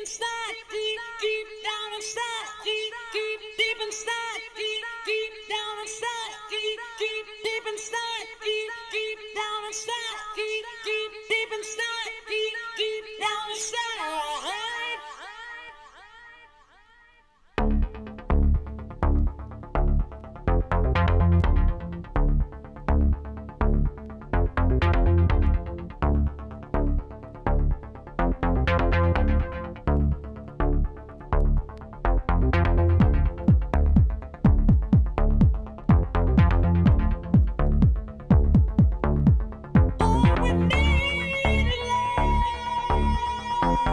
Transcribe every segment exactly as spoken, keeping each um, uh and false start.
inside, deep, deep down inside, deep, deep, deep inside, deep, deep down inside, deep, deep, deep inside, deep, deep down inside, deep, deep, deep inside, deep, deep down inside. All we need is love.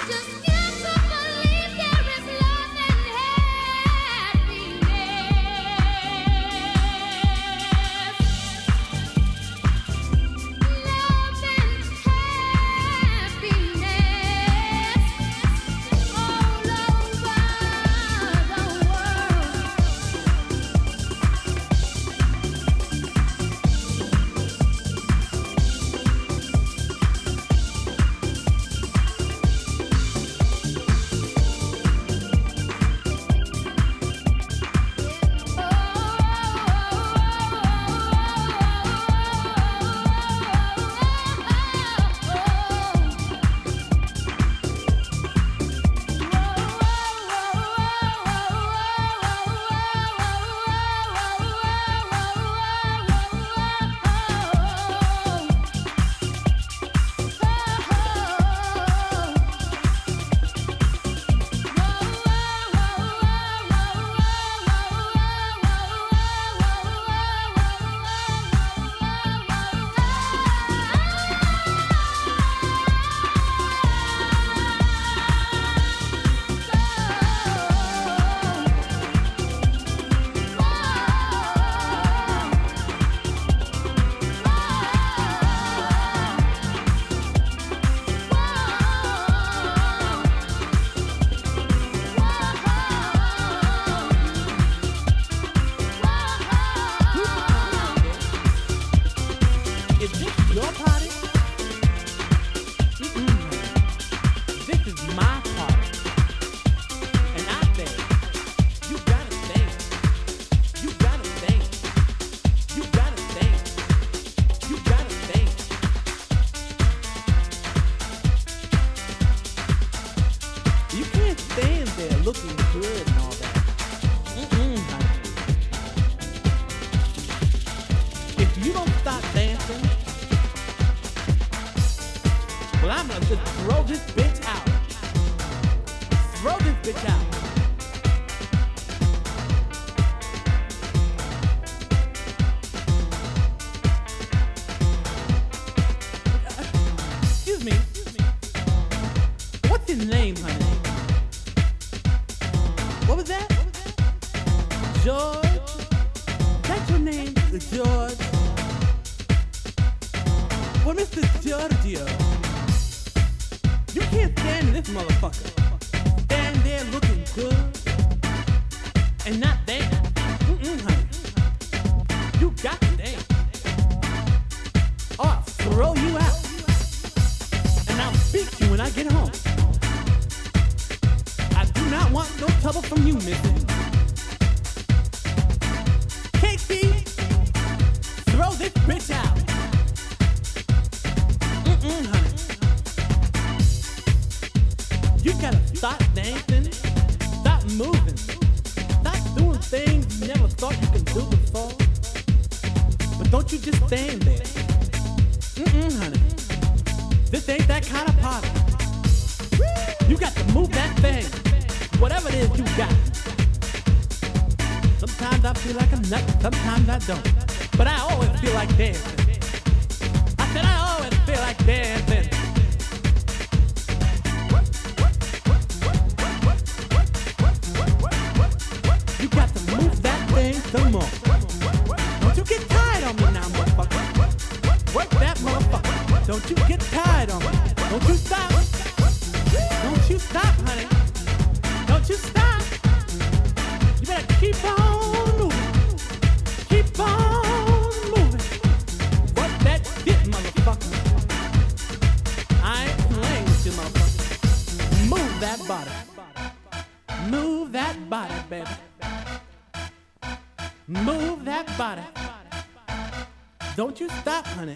Don't you stop, honey.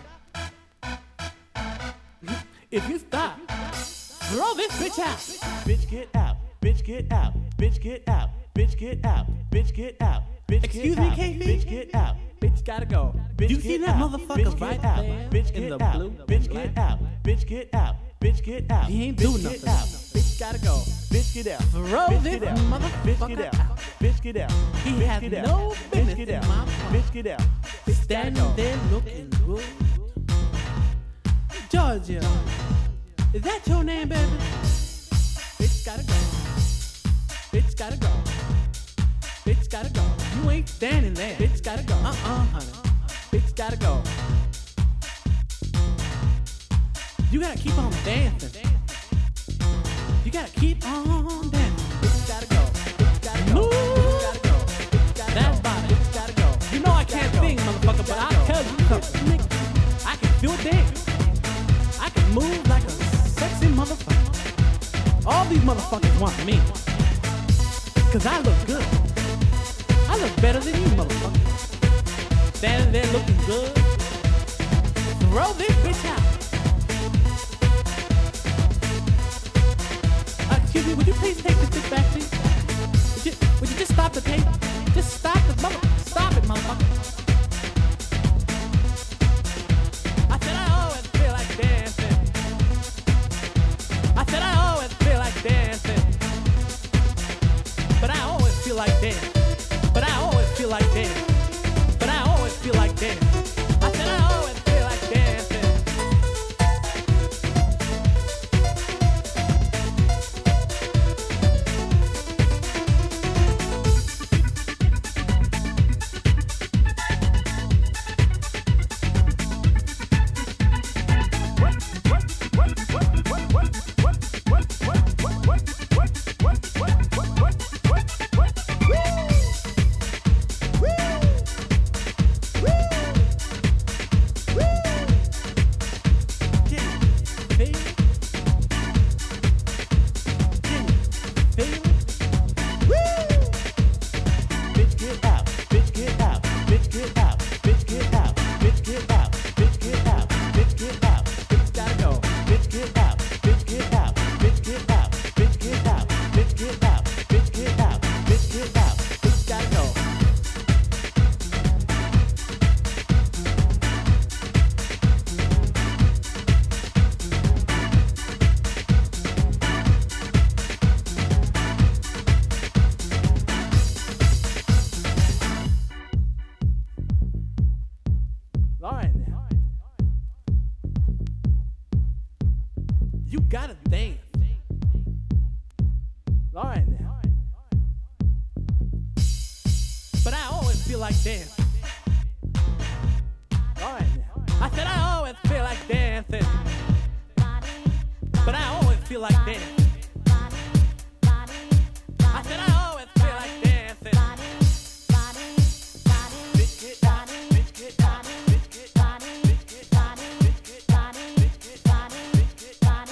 If you stop, throw this bitch out. Bitch, get out. Bitch, get out. Bitch, get out. Bitch, get out. Bitch, get out. Bitch, Excuse get me, out. K B? Bitch, get out. Bitch gotta go. Bitch, you see get that out. motherfucker Bitch, right get out. there Bitch, in get the out. blue? Bitch, get out. Bitch, get out. Bitch, get out. He ain't Bitch, doing get nothing. out. Bitch gotta go. Bitch, get out. Throw Bitch, this get out. motherfucker Bitch, get out. out. Bitch, get out. He Bitch, has get out. no Bitch, business get in out. my car. Bitch, get out. Bitch, Standing gotta go. there looking good. Georgia, Is that your name, baby? Bitch gotta go. Bitch gotta go. Bitch gotta go. You ain't standing there. Bitch gotta go. Uh-uh, honey. Bitch gotta go. You gotta keep on dancing. You gotta keep on dancing. Bitch gotta go. Bitch gotta go. Move. Bitch gotta go. Bitch gotta That's go. Body. Bitch gotta go. You know I can't sing, motherfucker, but I'll tell you something, nigga. I can do a dance. I can move like a sexy motherfucker. All these motherfuckers want me. Cause I look good. I look better than you, motherfucker. Standing there looking good. Throw this bitch out. Uh, excuse me, would you please take this bitch back, please? Would you, would you just stop the tape? Just stop the mother. Stop it, motherfucker. I said I always feel like dancing. I said I always feel like dancing. But I always feel like dancing. But I always feel like dancing. But I always feel like dancing. I said I always feel like dancing. You gotta dance. All right now. But I always feel like dancing. All right now. I said I always feel like dancing. But I always feel like dancing. I said I always feel like dancing. Bitch get out, bitch get out, bitch get out, bitch get out, bitch get out, bitch get out, bitch get out.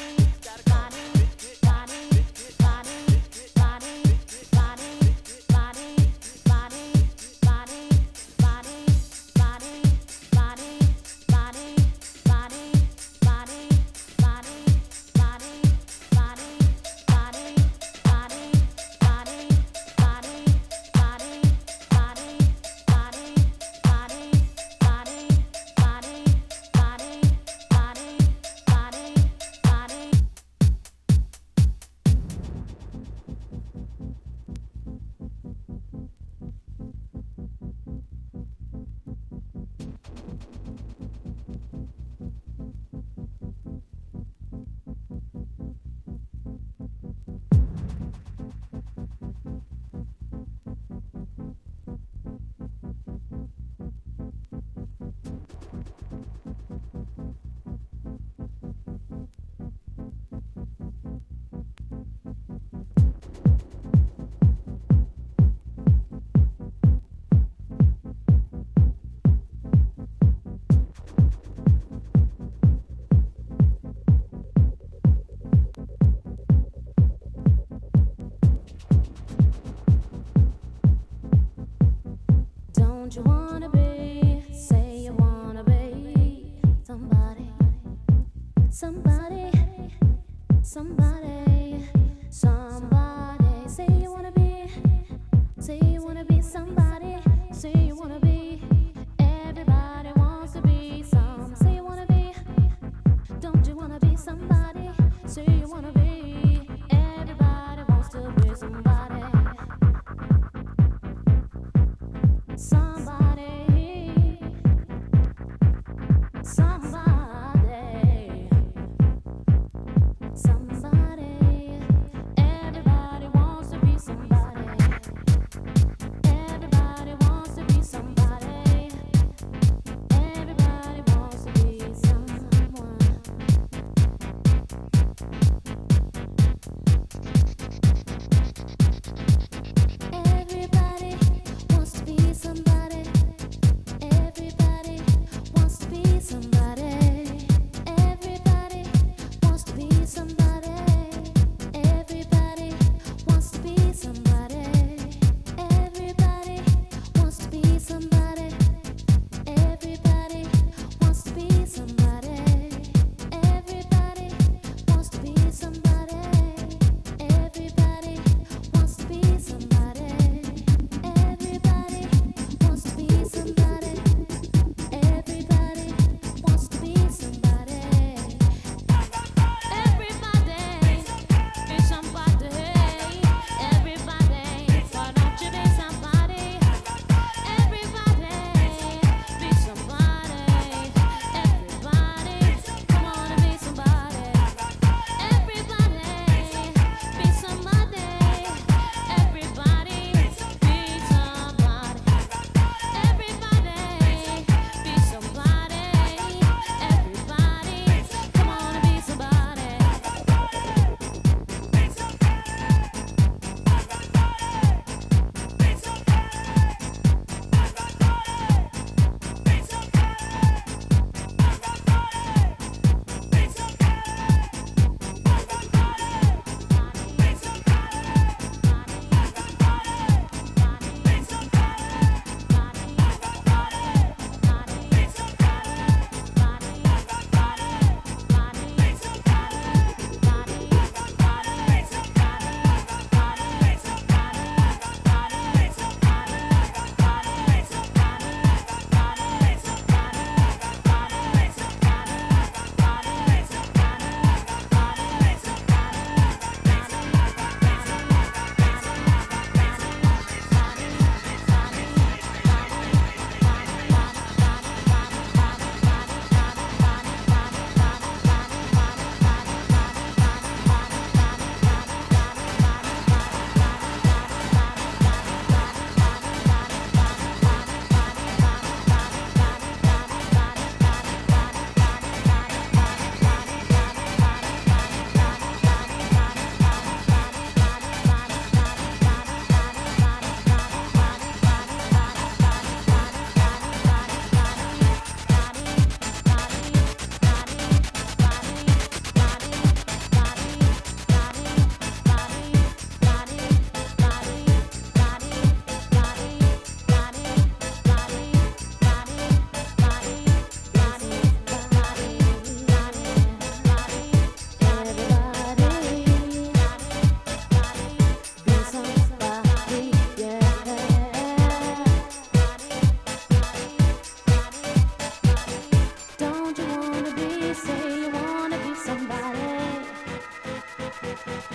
Don't you wanna be, say you wanna be somebody, somebody, somebody, somebody. Say you wanna be, say you wanna be somebody, say you wanna be. Everybody wants to be some. Say you wanna be, don't you wanna be somebody? Say you wanna be. Everybody wants to be somebody. Somebody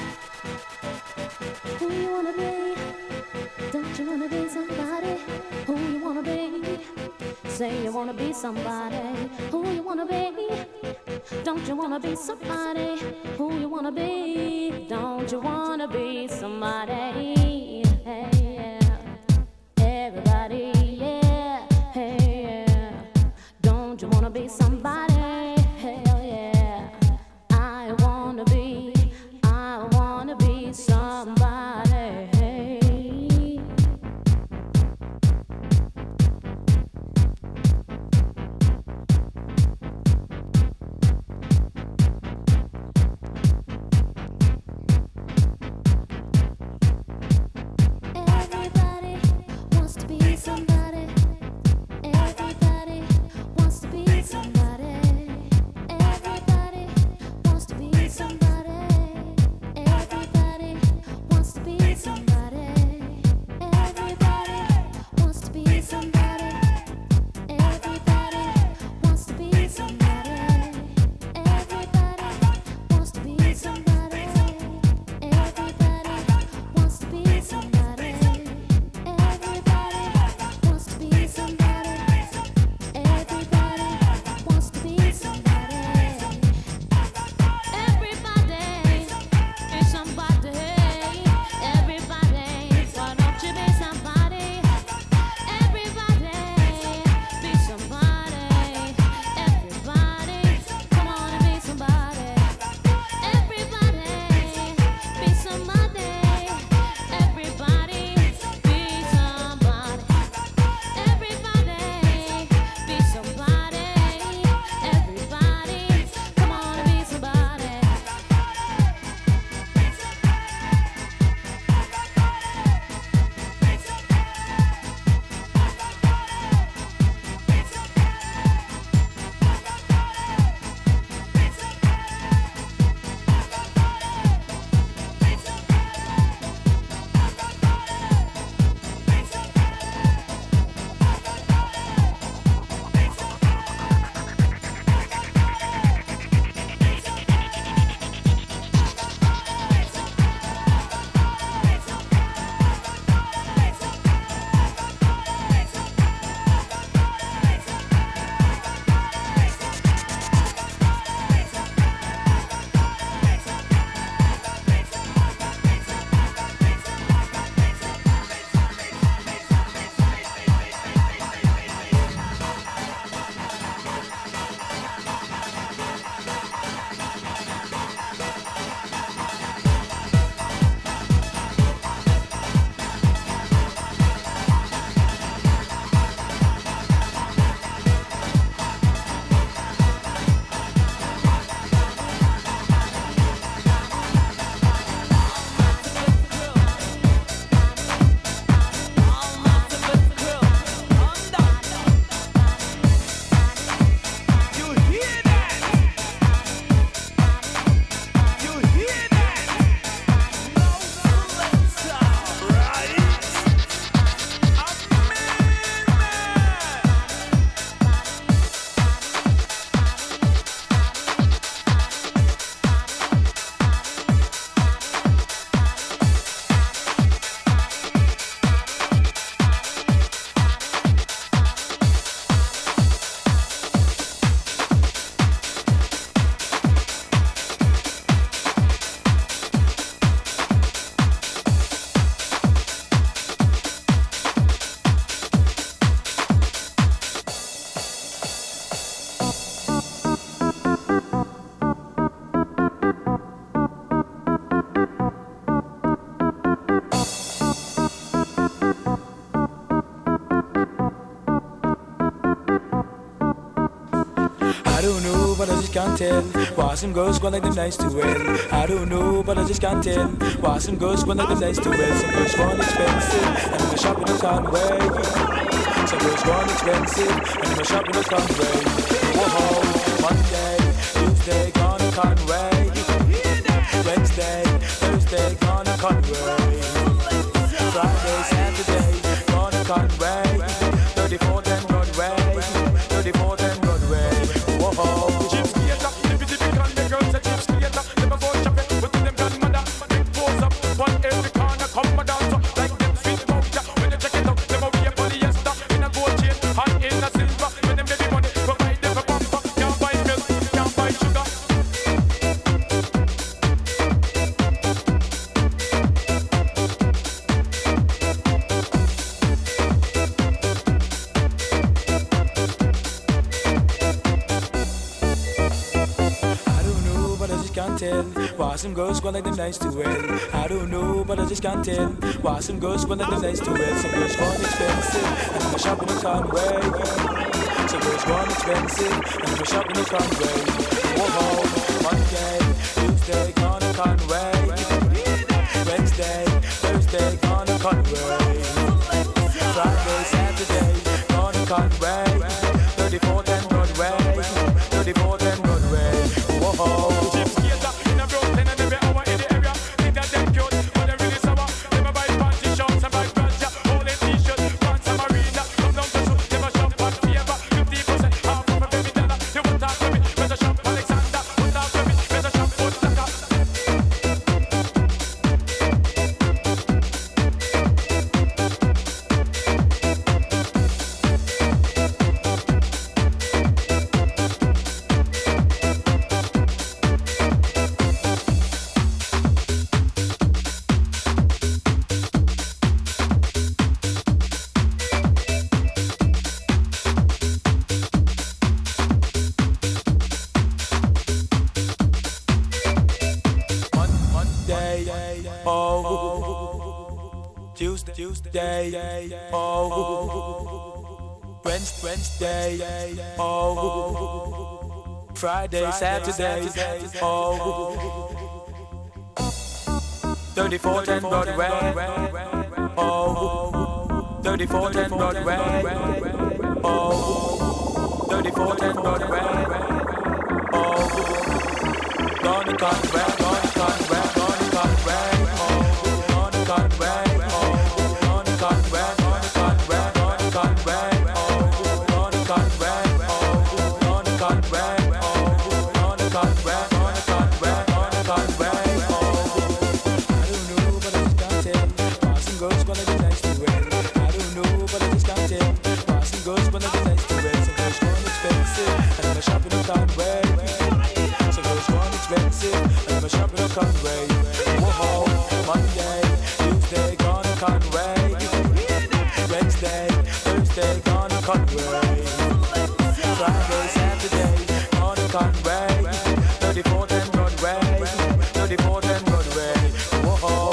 Who you wanna be? Don't you wanna be somebody? Who you wanna be? Say you wanna be somebody. Who you wanna be? Don't you wanna be somebody? Who you wanna be? Don't you wanna be somebody? Hey, yeah. Everybody, yeah. Hey, yeah. Don't you wanna be somebody? Hell yeah. I wanna be, I wanna be somebody. Hey. Everybody wants to be somebody. Everybody wants to be somebody. Everybody wants to be somebody. Everybody wants to be somebody. Everybody wants to be somebody. Everybody wants to be somebody. Everybody wants to be somebody. Everybody wants to be somebody. Everybody wants to be somebody. Everybody wants to be somebody. Everybody be somebody. Everybody, why don't you be somebody? Everybody be somebody. Everybody, come on and be somebody. Everybody be somebody. Everybody be somebody. Everybody be somebody. Everybody, come on and be somebody. I don't know, but I just can't tell why some girls go like them nice to well. I don't know, but I just can't tell why some girls go like them nice to well. Some girls go expensive, and I'm shopping in Conway. Some girls go expensive, and I'm shopping in Conway. Whoa, Monday, Tuesday, gone to Conway. Wednesday, Thursday, gone to Conway. Friday, Saturday, gone to Conway. thirty-fourth and Broadway, thirty-fourth and Broadway. Whoa. Gypsy, the girls are gypsy, never go shopping. With them grandmother, Why some girls go like them nice to well? I don't know, but I just can't tell. Why some girls go like them nice to well? Some girls gone expensive, and I'm shopping in Conway. Some girls gone expensive, and I'm shopping in Conway. Whoa, Monday, Tuesday, gonna Conway. Wednesday, Thursday, gonna Conway. Friday, Saturday, gonna Conway. thirty-fourth and Broadway, thirty-fourth and Broadway. Whoa. Tuesday, oh, Wednesday, oh, Friday, Saturday, oh, thirty-fourth and Broadway, oh, thirty-fourth and Broadway, oh, thirty-fourth and Broadway, oh, gonna Conway, gonna Conway, gonna Conway, oh, gonna Conway. Conway, whoa, Monday, Tuesday, gonna Conway, Wednesday, Thursday, gonna Conway, Friday, Saturday, gonna Conway, thirty-fourth and Broadway, thirty-fourth and Broadway, whoa.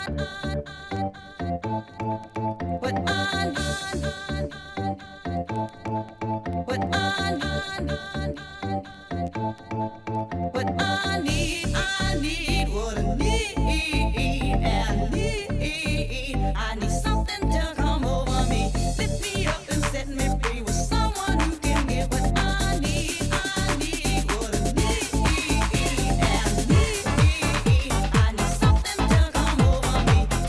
Something to come over me.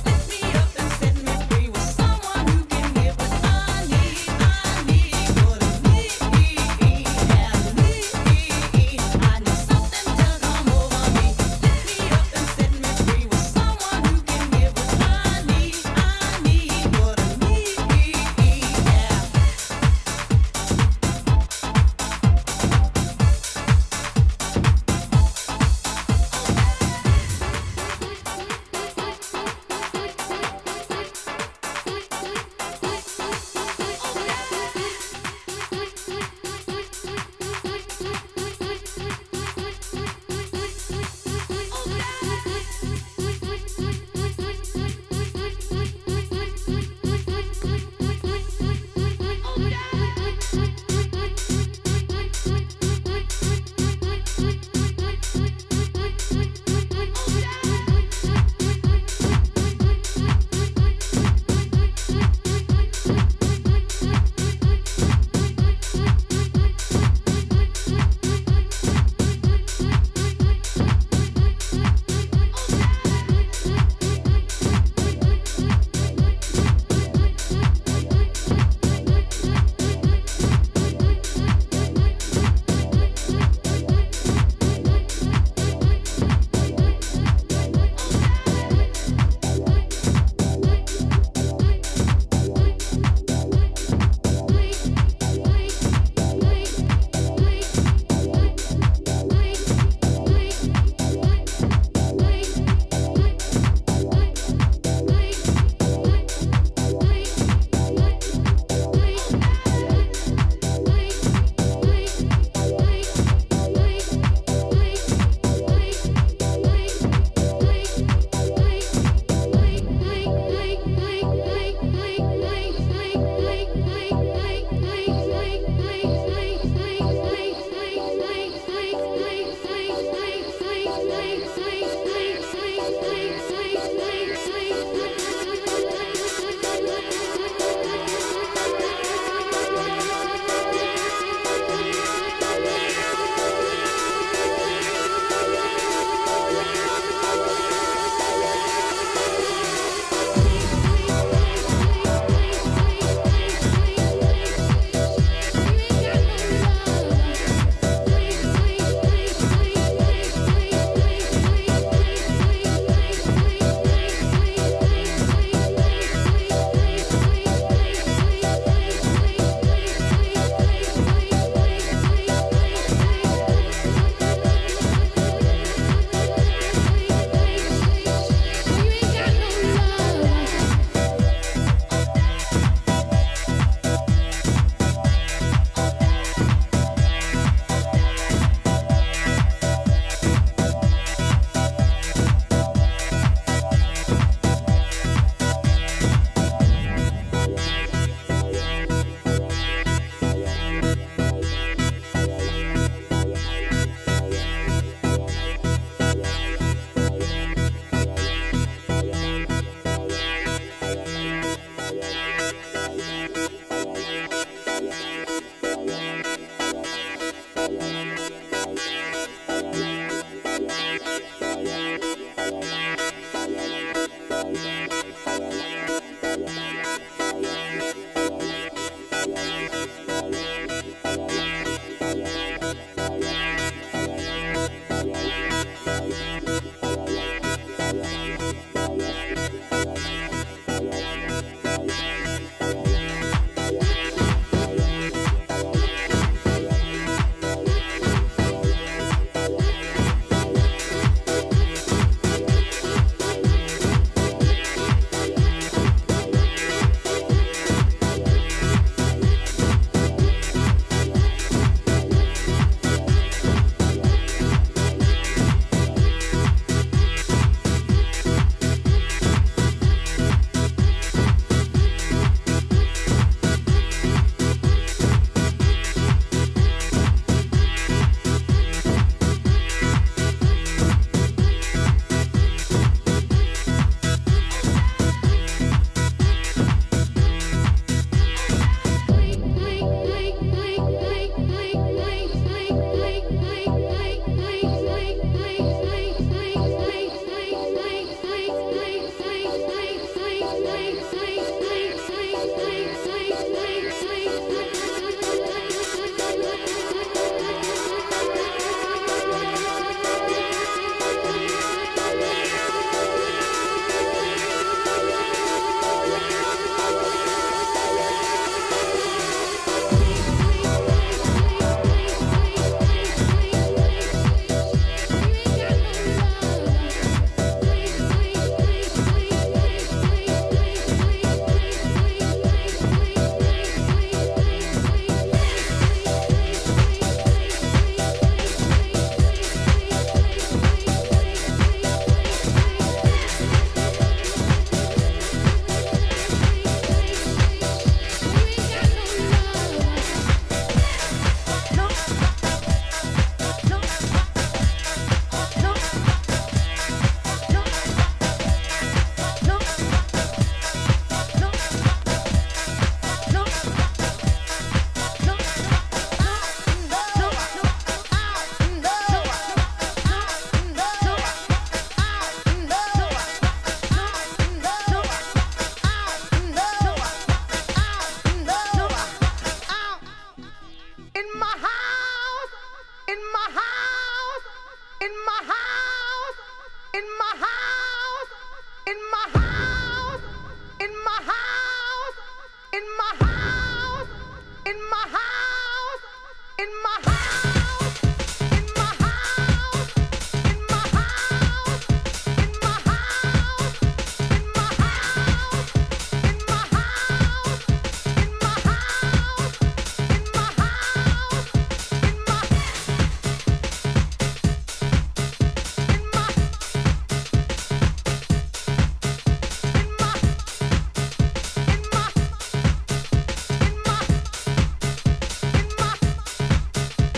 In my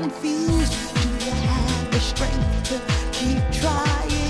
confused? Do you have the strength to keep trying?